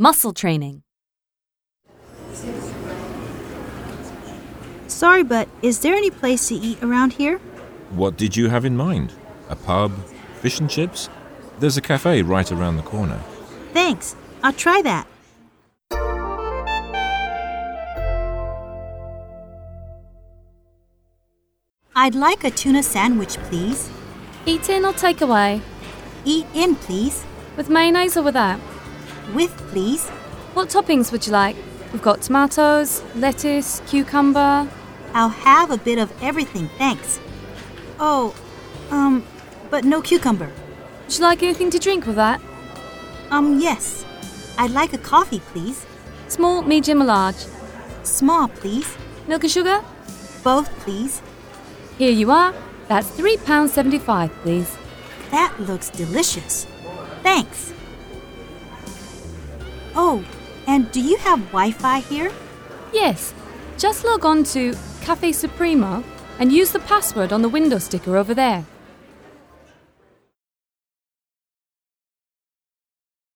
Muscle training. Sorry, but is there any place to eat around here? What did you have in mind? A pub? Fish and chips? There's a cafe right around the corner. Thanks. I'll try that. I'd like a tuna sandwich, please. Eat in or take away? Eat in, please. With mayonnaise or without? With, please. What toppings would you like? We've got tomatoes, lettuce, cucumber. I'll have a bit of everything, thanks. Oh, but no cucumber. Would you like anything to drink with that? Yes. I'd like a coffee, please. Small, medium or large? Small, please. Milk and sugar? Both, please. Here you are. That's £3.75, please. That looks delicious. Thanks. Oh, and do you have Wi-Fi here? Yes. Just log on to Cafe Supremo and use the password on the window sticker over there.